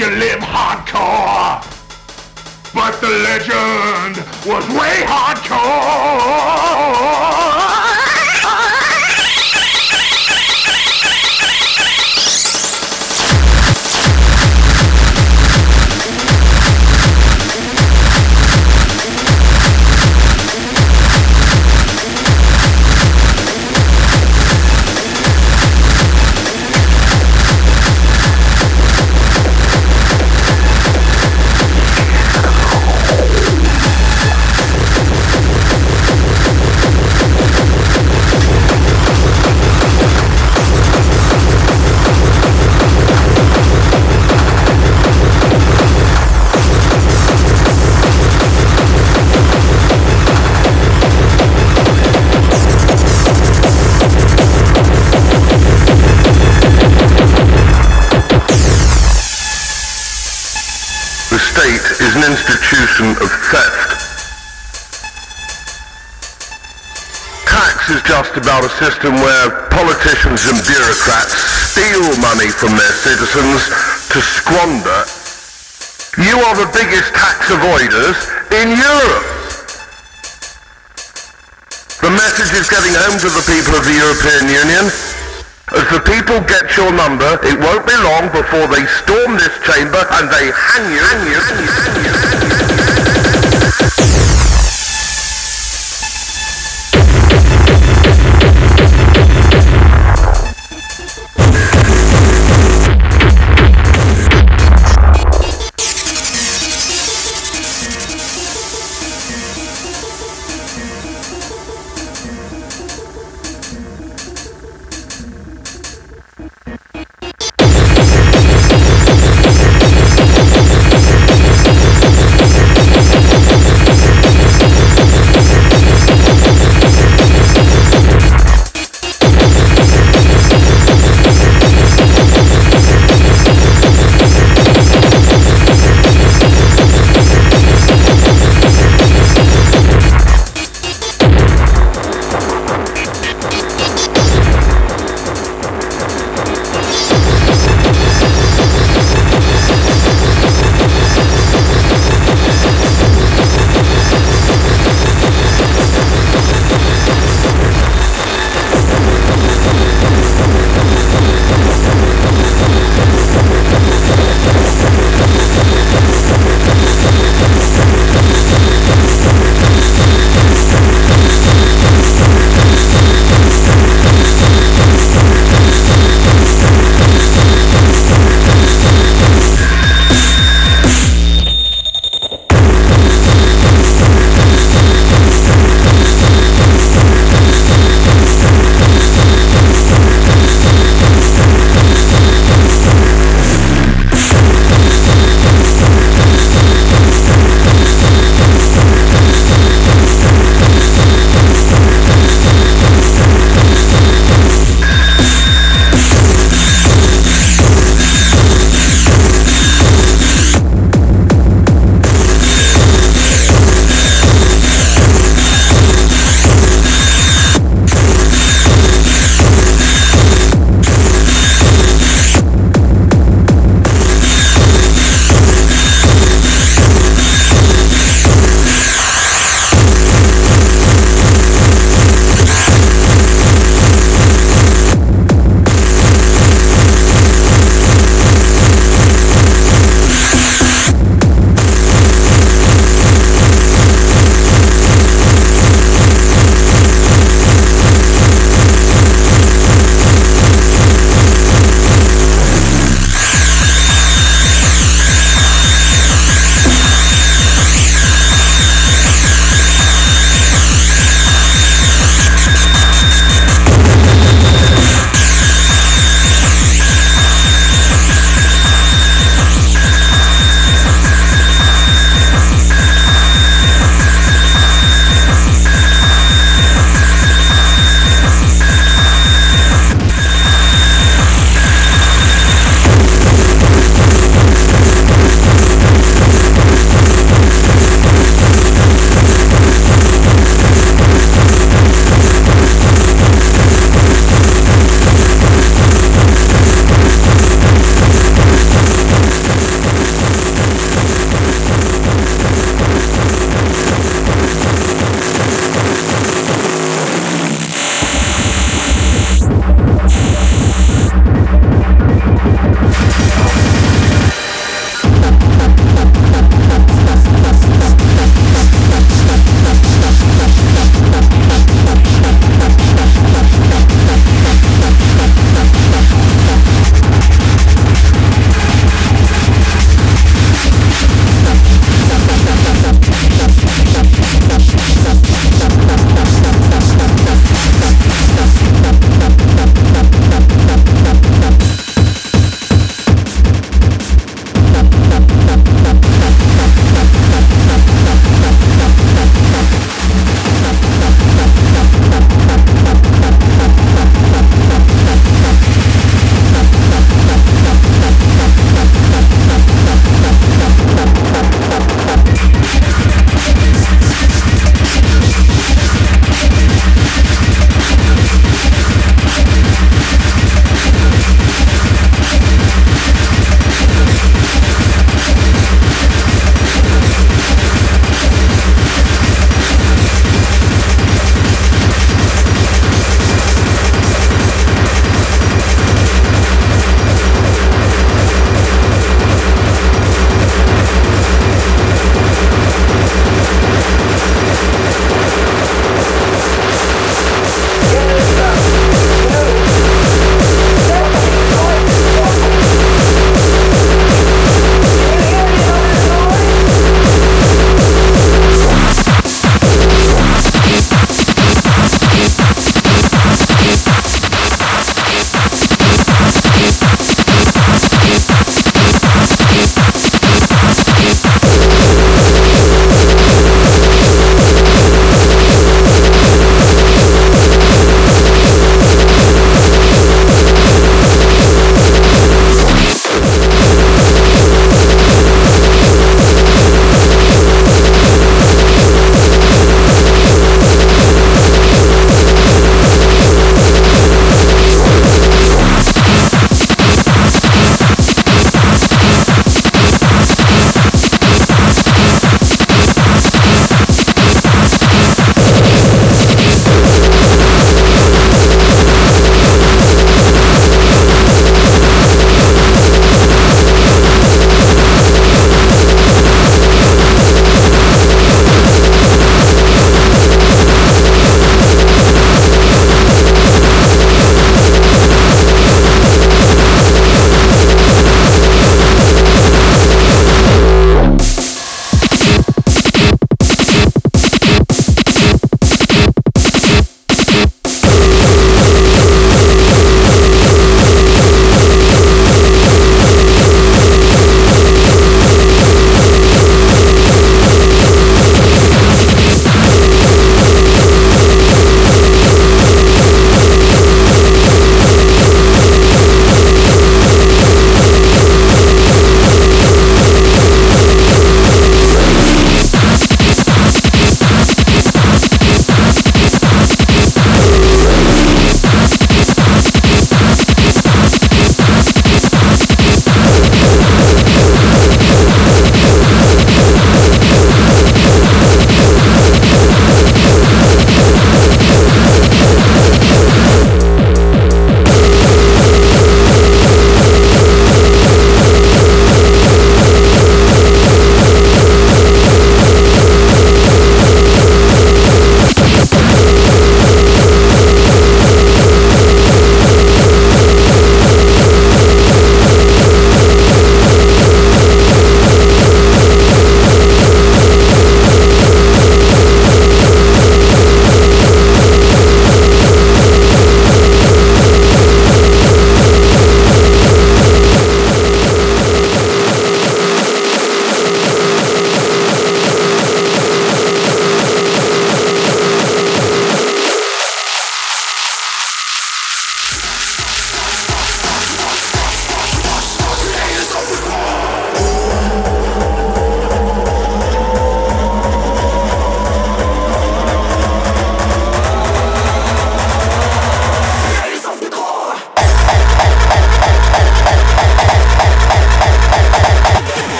you live hardcore. But the legend was way hardcore. Is an institution of theft. Tax is just about a system where politicians and bureaucrats steal money from their citizens to squander. You are the biggest tax avoiders in Europe. The message is getting home to the people of the European Union. As the people get your number, it won't be long before they storm this chamber and they hang you.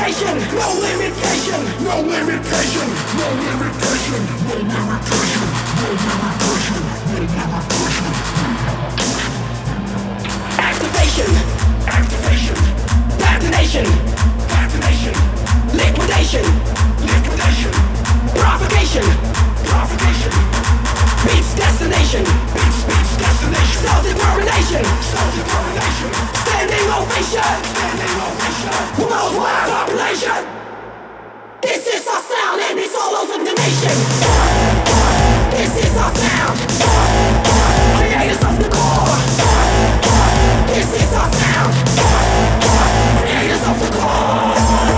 limitation, no limitation, no limitation, no limitation, no limitation, no limitation, no limitation. Activation, activation, detonation, detonation, liquidation, liquidation, provocation, provocation, meets destination, meets destination, self-determination, self-determination, standing ovation, standing ovation, worldwide population. This is our sound and it's all over the nation. This is our sound, creators of the core. This is our sound, creators of the core.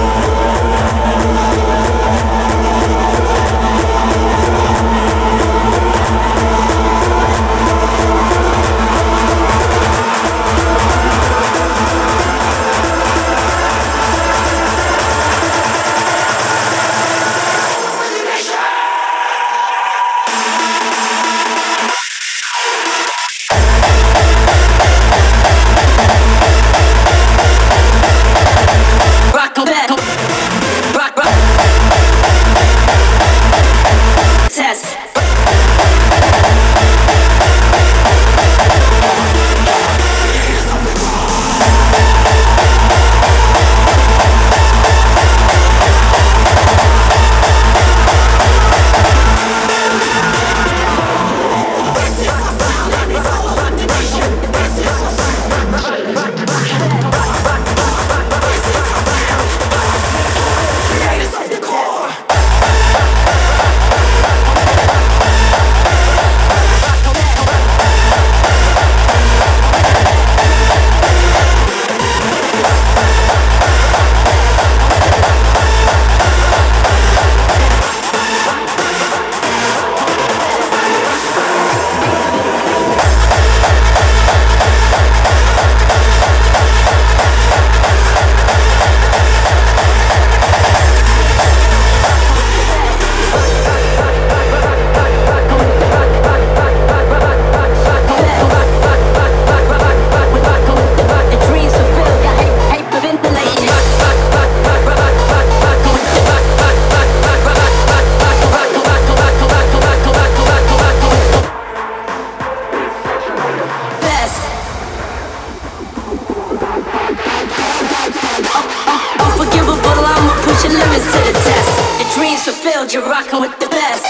You're rocking with the best.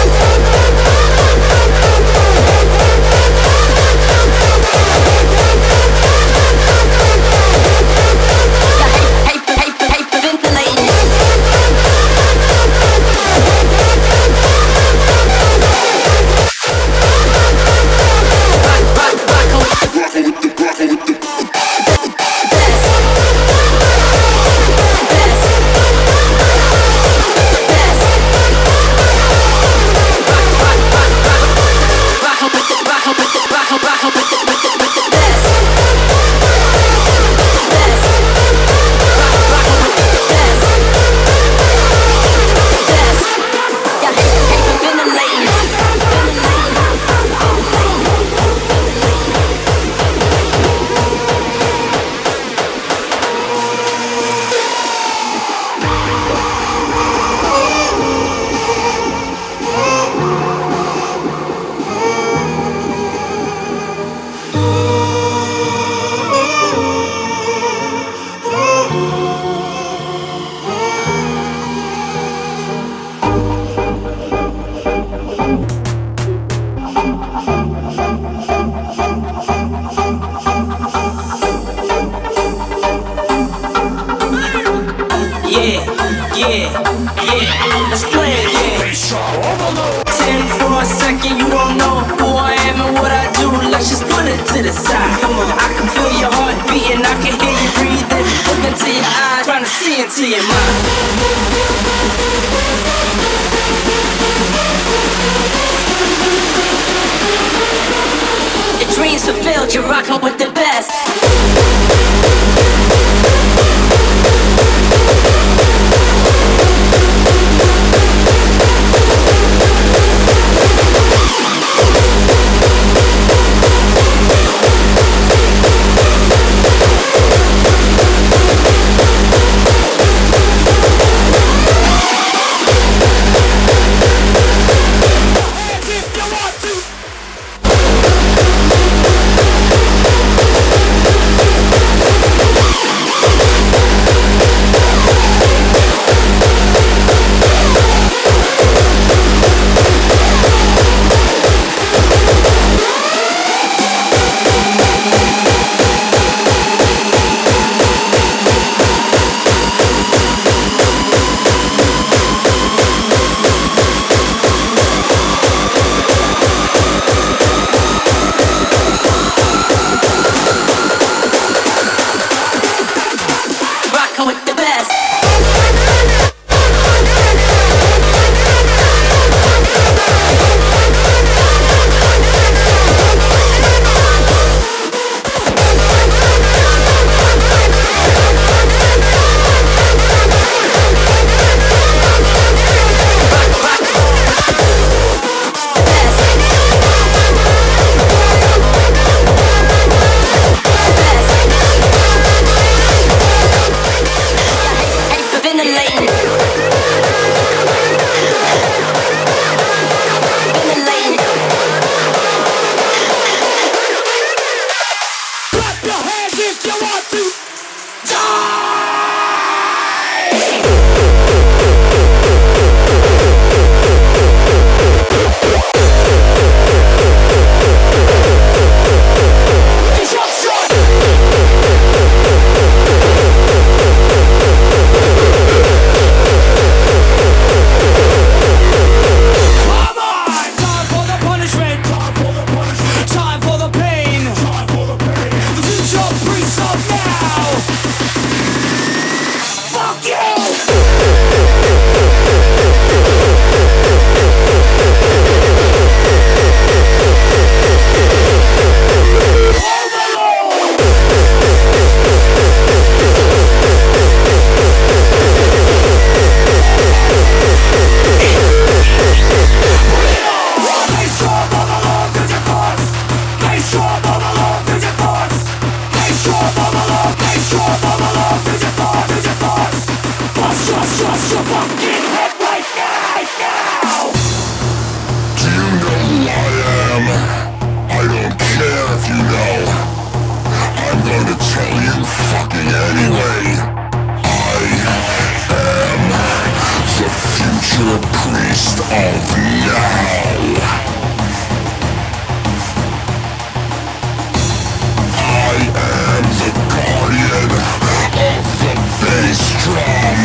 Dreams fulfilled, you're rocking with the best. your fucking head right now! Do you know who I am? I don't care if you know. I'm gonna tell you fucking anyway. I am the future priest of now. I am the guardian of the bass drum.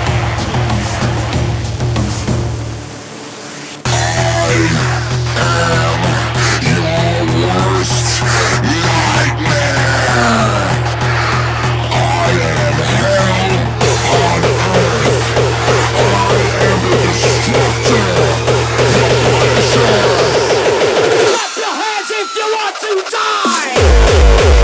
I am your worst nightmare. I am hell on earth. I am the destructor, the punisher. Clap your hands if you want to die!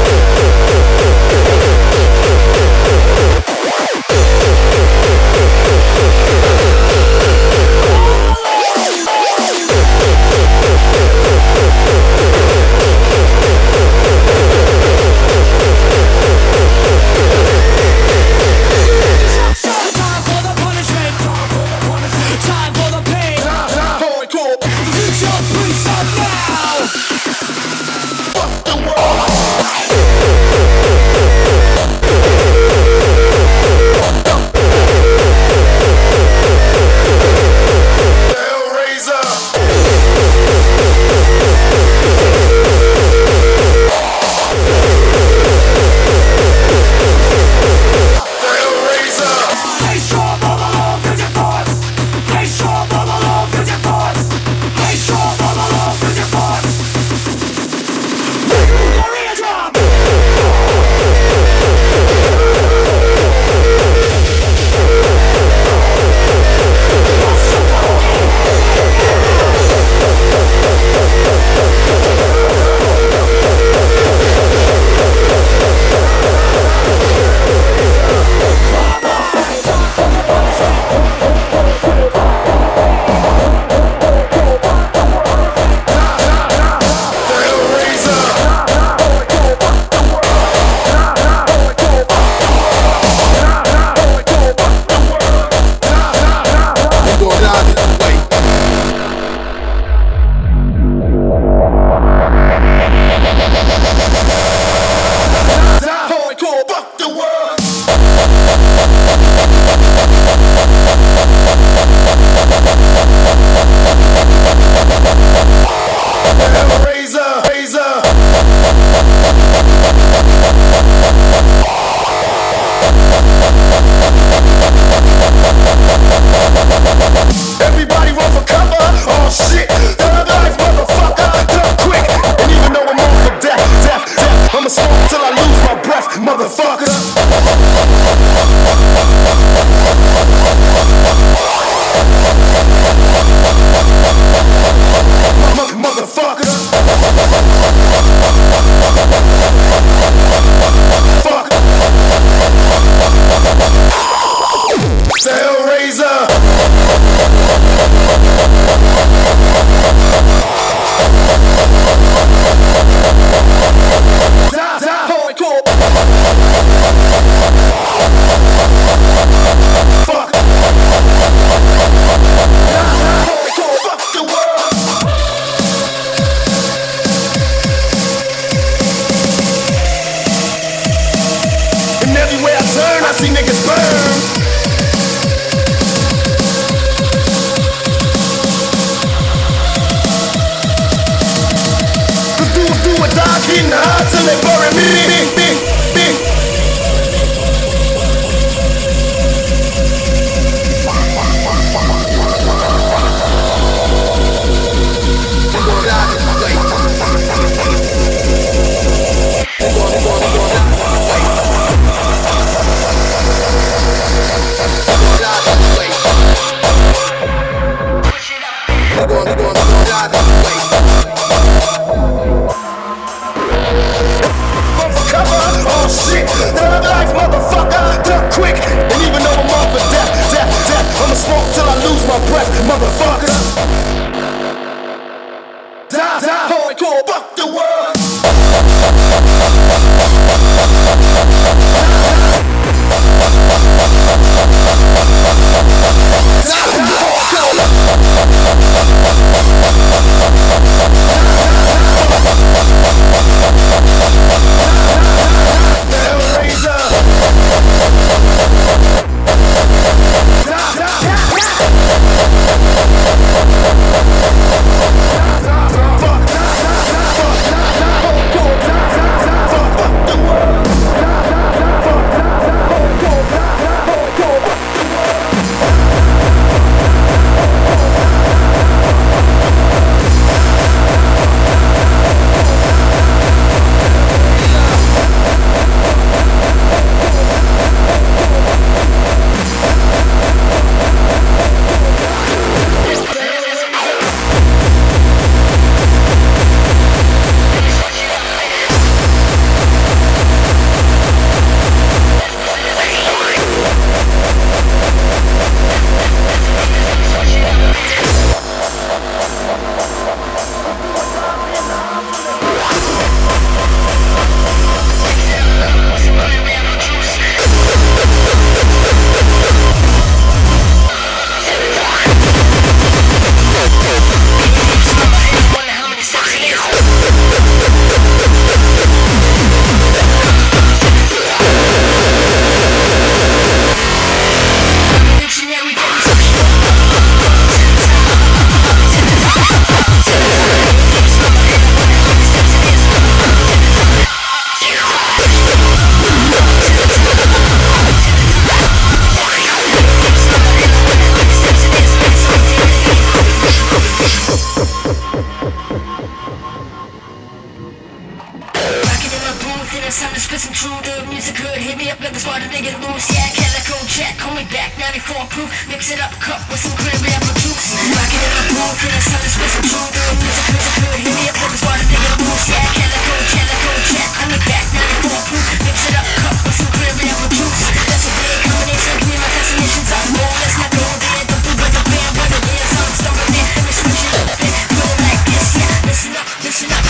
Mix it up, cup with some cranberry apple juice. Rock it in my pool, feel the sun is with some truth. Music feels so good, hit me up, focus, water, dig it, boost. Yeah, can I go, check. I'm the back, 94 proof. Mix it up, cup with some cranberry apple juice. That's a big combination, clean my destinations up. Oh, let's not go there, don't do the band, what it is. I'm stumbling in, let me switch it up a bit. Put it like this, yeah, listen up, listen up.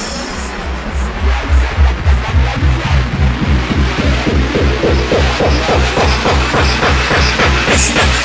Listen up.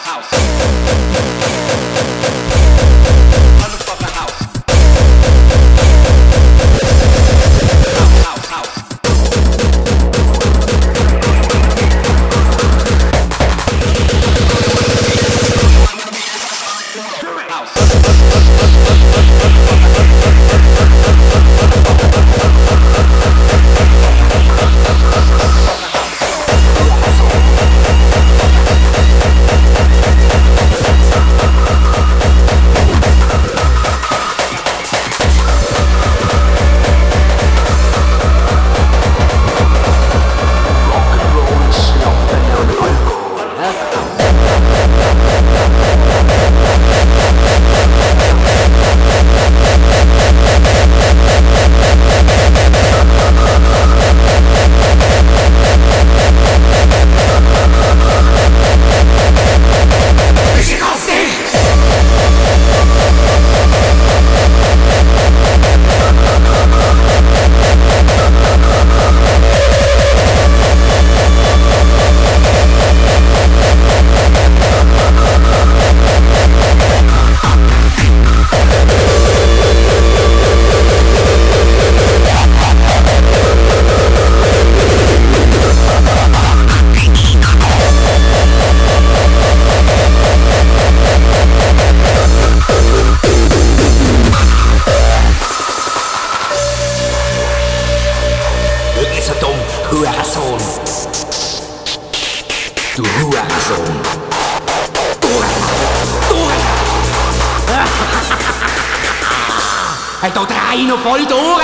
Da drei noch voll durch!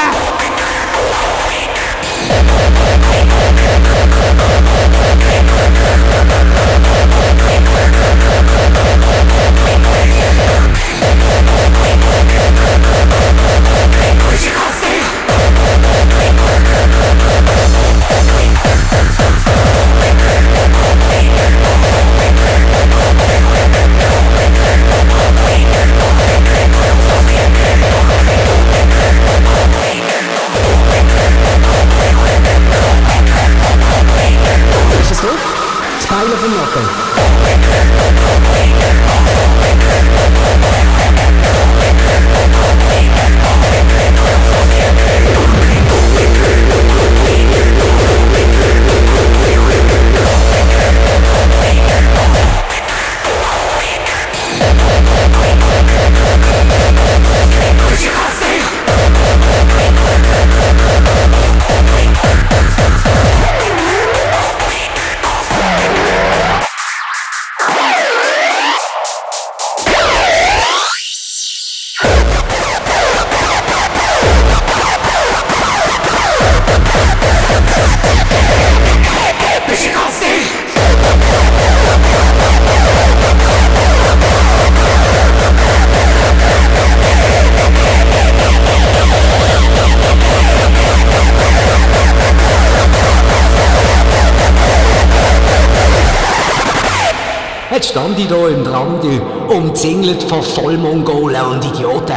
Pijl of een noppen. Jetzt stand ich da im Rand, umzingelt von Vollmongolen und Idioten.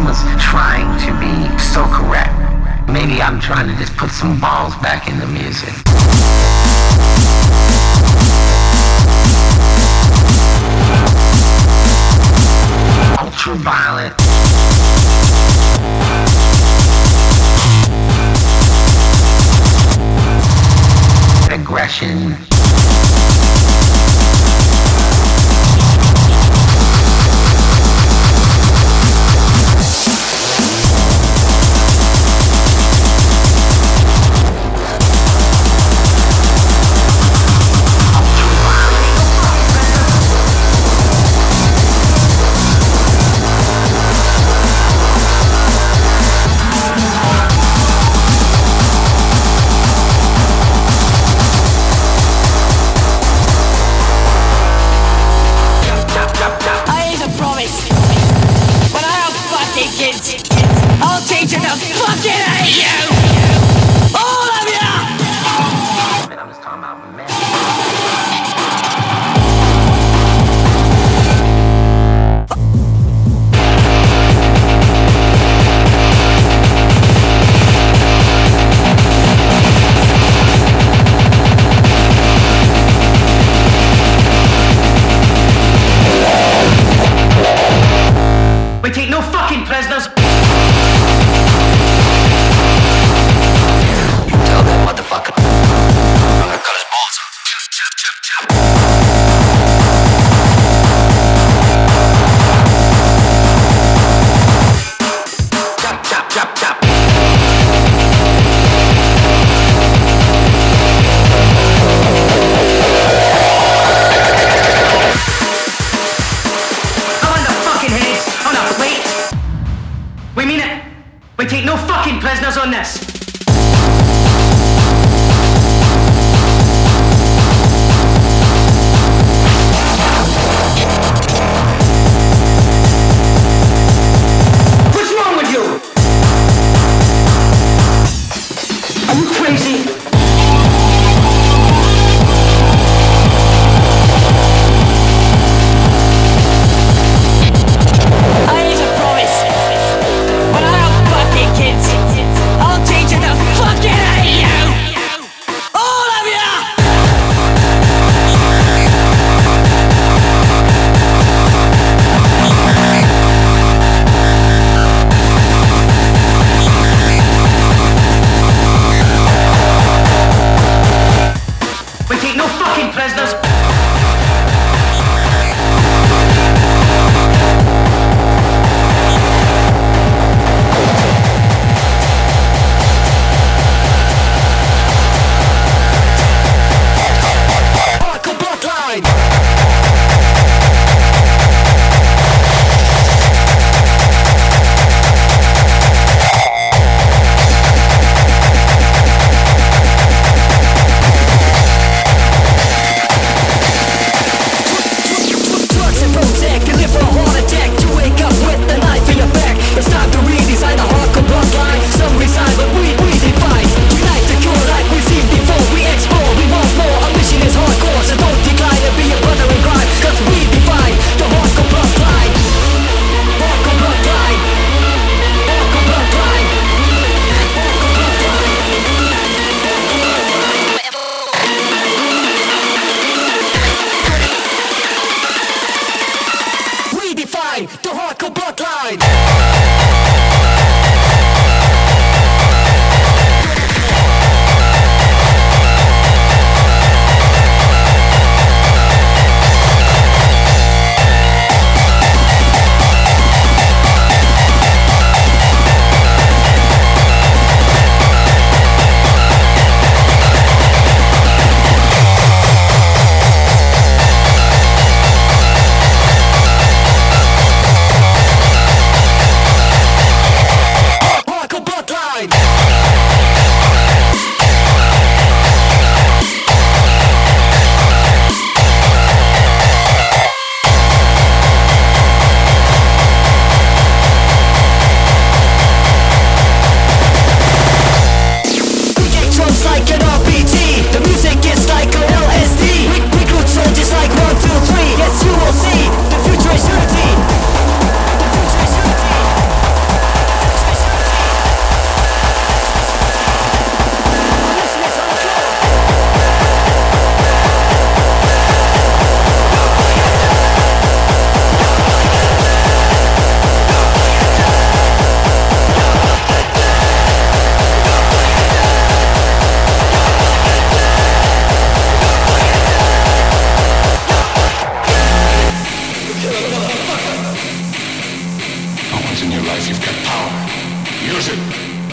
almost trying to be so correct. Maybe I'm trying to just put some balls back in the music. Ultraviolet. Aggression. I'll teach you to fucking hate you! All of you! I'm just talking about men. We take no fucking prisoners! Tell that motherfucker. I'm gonna cut his balls off. Chop, chop, chop, chop. Chop, chop, chop, chop. I want the fucking heads! Oh no, wait! We mean it! We take no fucking prisoners on this! What's wrong with you? Are you crazy? I ain't a promise. When I have fucking kids, I'll teach you to fucking hate you! All of you! We take no fucking prisoners! Hardcore bloodline! Drugs and Prozac can live for a heart attack. You wake up with a knife in your back. It's time to redesign the hardcore bloodline. Some resign, but we define. Unite the cure like we've seen before. We explore, we want more. Our mission is hardcore, so don't decline and be a brother in crime. Cause we define the hardcore bloodline. Hardcore bloodline. Hardcore bloodline. We define the hardcore bloodline. realize you've got power. Use it.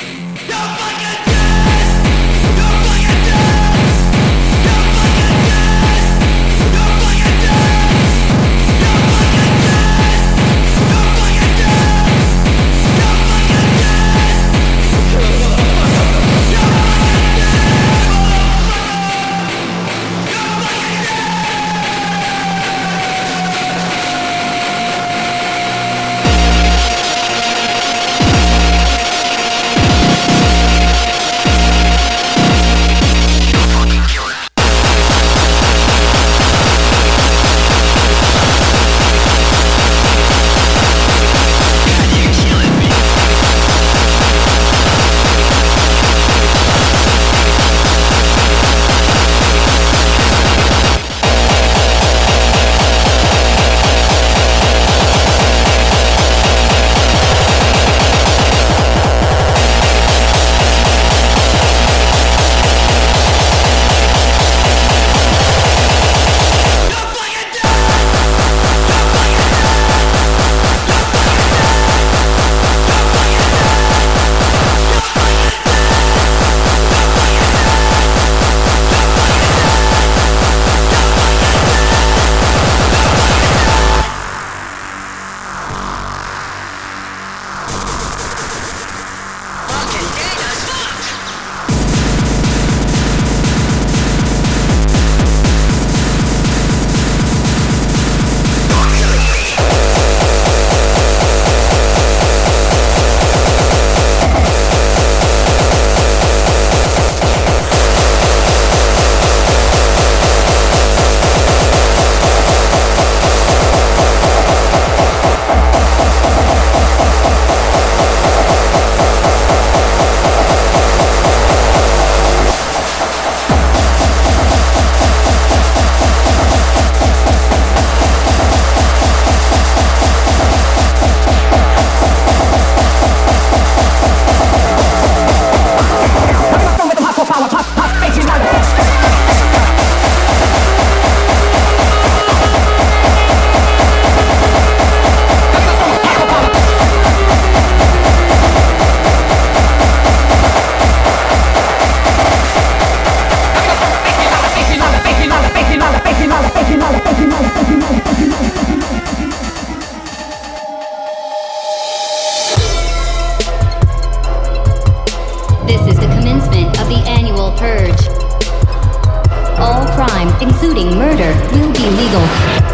including murder, will be legal.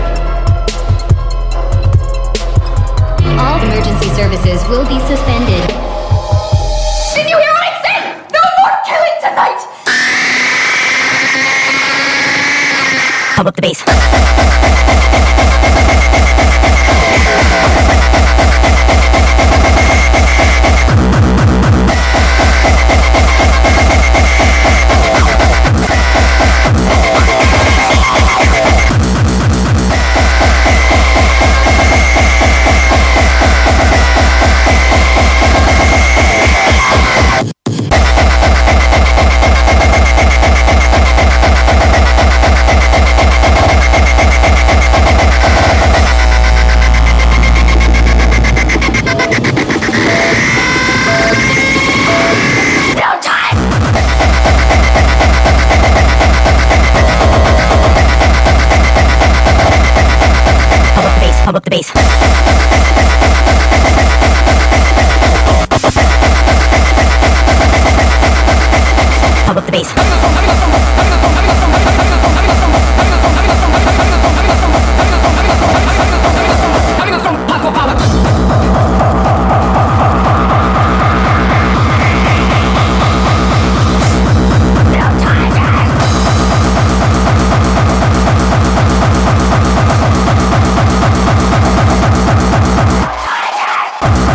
All emergency services will be suspended. Did you hear what I said? No more killing tonight! Pump up the bass. Pump up the bass. Pump up the bass.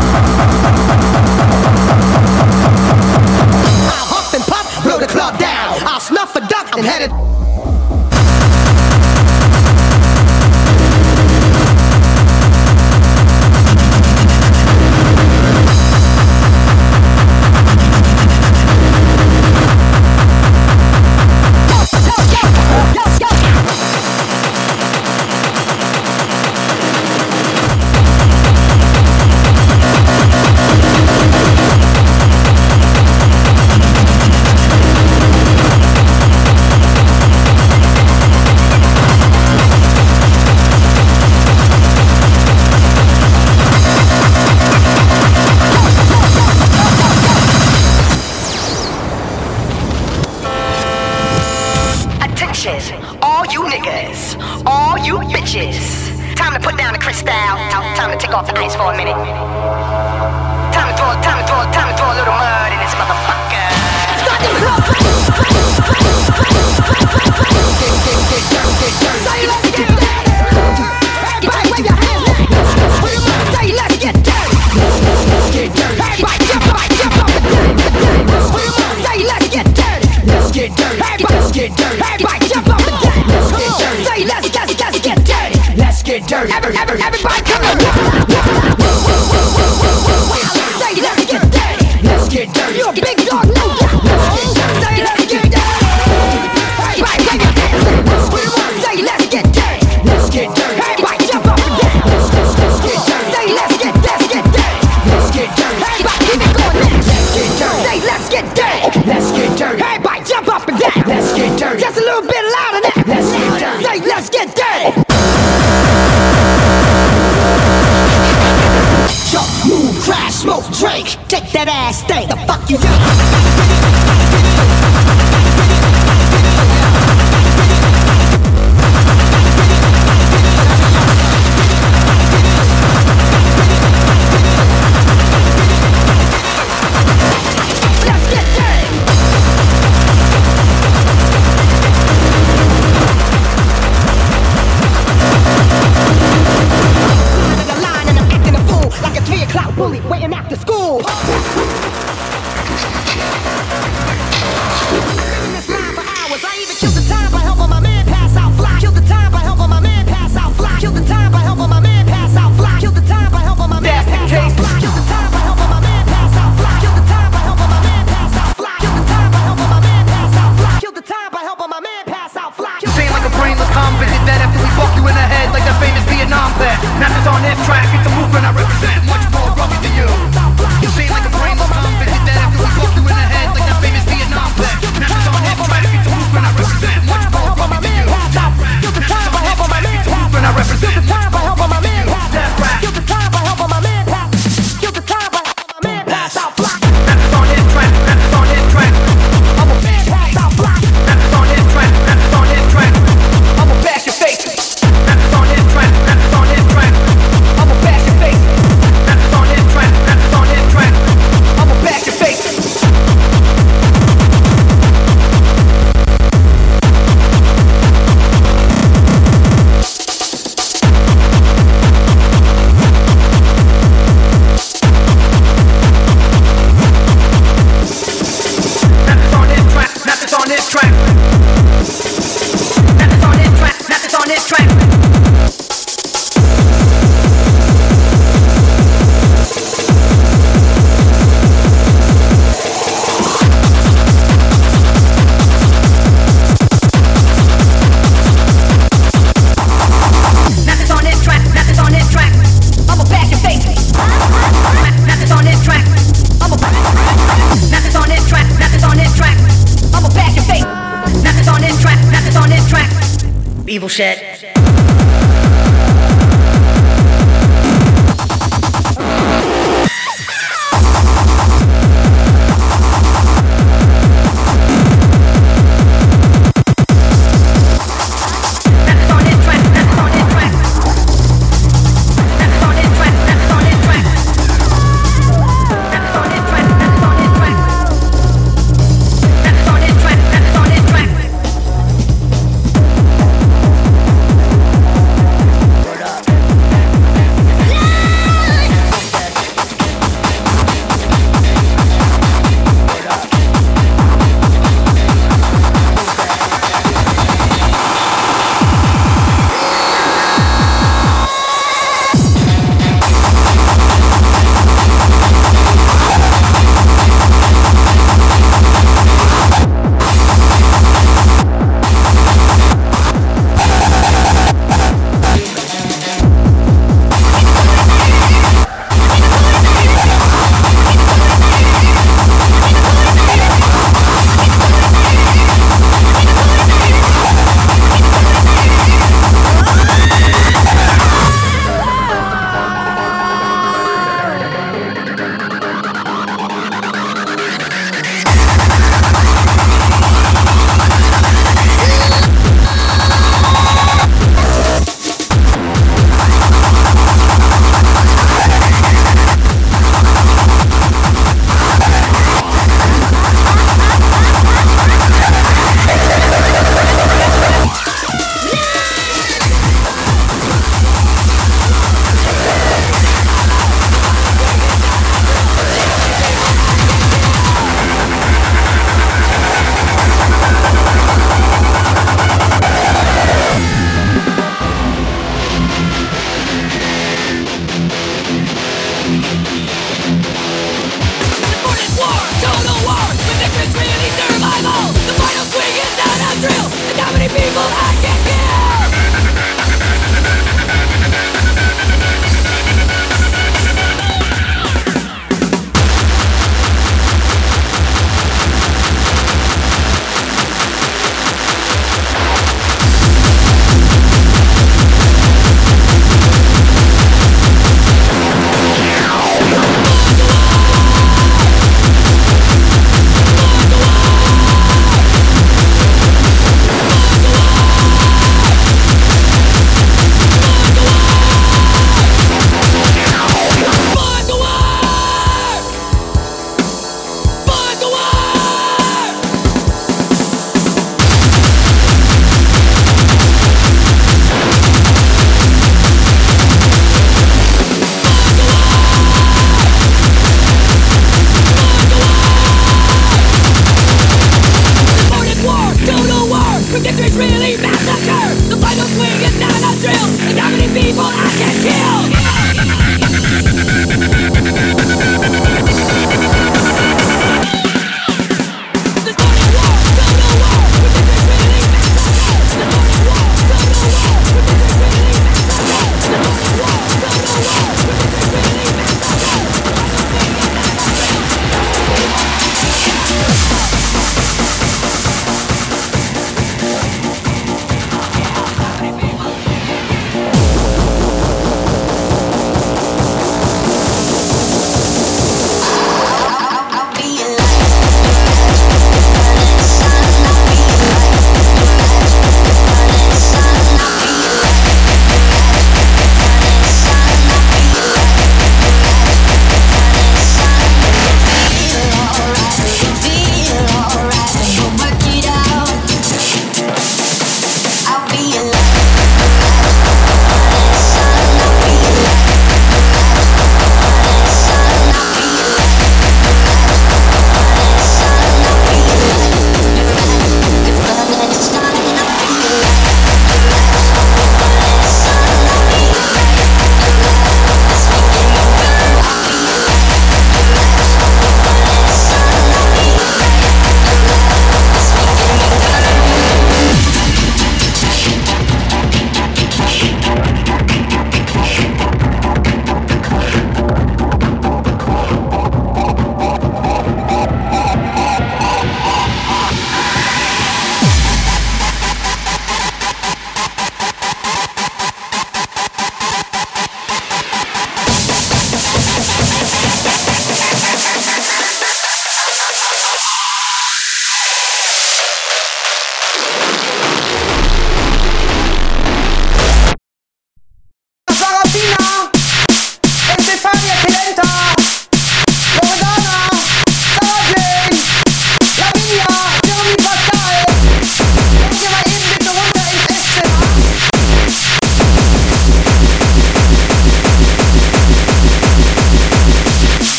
Blow the club down. crystal. Time to take off the ice for a minute. Time to throw a little mud in this motherfucker. Start to blow. Say let's get dirty. Everybody wave your hands now. Say let's get dirty. Let's get dirty. Everybody jump up and down. Say let's get dirty. Let's get dirty. Let's get dirty. Everybody jump up and down. Let's get dirty. Say let's get dirty. Let's get dirty. Everybody come on. Say let's get dirty. Let's get dirty. You a big dog, no doubt. Say let's get dirty. Everybody wave your hands. Say let's get dirty. Let's get dirty. Everybody jump up and down. Let's get dirty. Say let's get dirty. Let's get dirty. Everybody keep it going now. Let's get dirty. Say let's get dirty. Let's get dirty. Everybody jump up and down. Let's get dirty. Just a little bit louder now. Let's get dirty. Say let's get dirty. Jump, move, crash, smoke, drink. Take that ass thing. The fuck you do? Bully waiting after school. Been in this line for hours. I even killed the time by helping my man pass out fly. Killed the time by helping my man pass out fly. Killed the time by helping my man pass out fly. Killed the time by helping my man pass out fly. Killed the time by helping my man pass out fly. Killed the time by helping my man pass out fly. Killed the time by helping my man pass out fly. Killed the time by helping my man pass out fly. You seem like a brainless convict that after we fuck you in the head like the famous Vietnam vet. Now it's on this track, it's a movement I represent. Much more rugged than you. You seem like a brainless convict that after we fuck you in the head like that famous Vietnam vet. Now it's on this track, it's a movement I represent. Much more rugged than you. Kill the time by helping my man pass. Movement I represent. Kill the time by helping my man pass. Kill the time by helping my man pass. Kill the time by helping my man pass out block. Now it's on this track, now it's on this track. I'm a man pass out block. Now it's on this track, now it's on this track. I'm a bash your face. Now it's on this track, now it's on this track. I'm a bash your face. Now it's on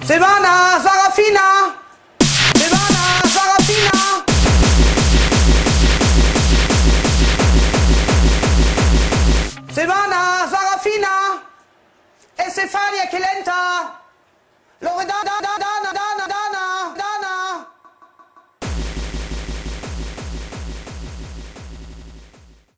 Silvan!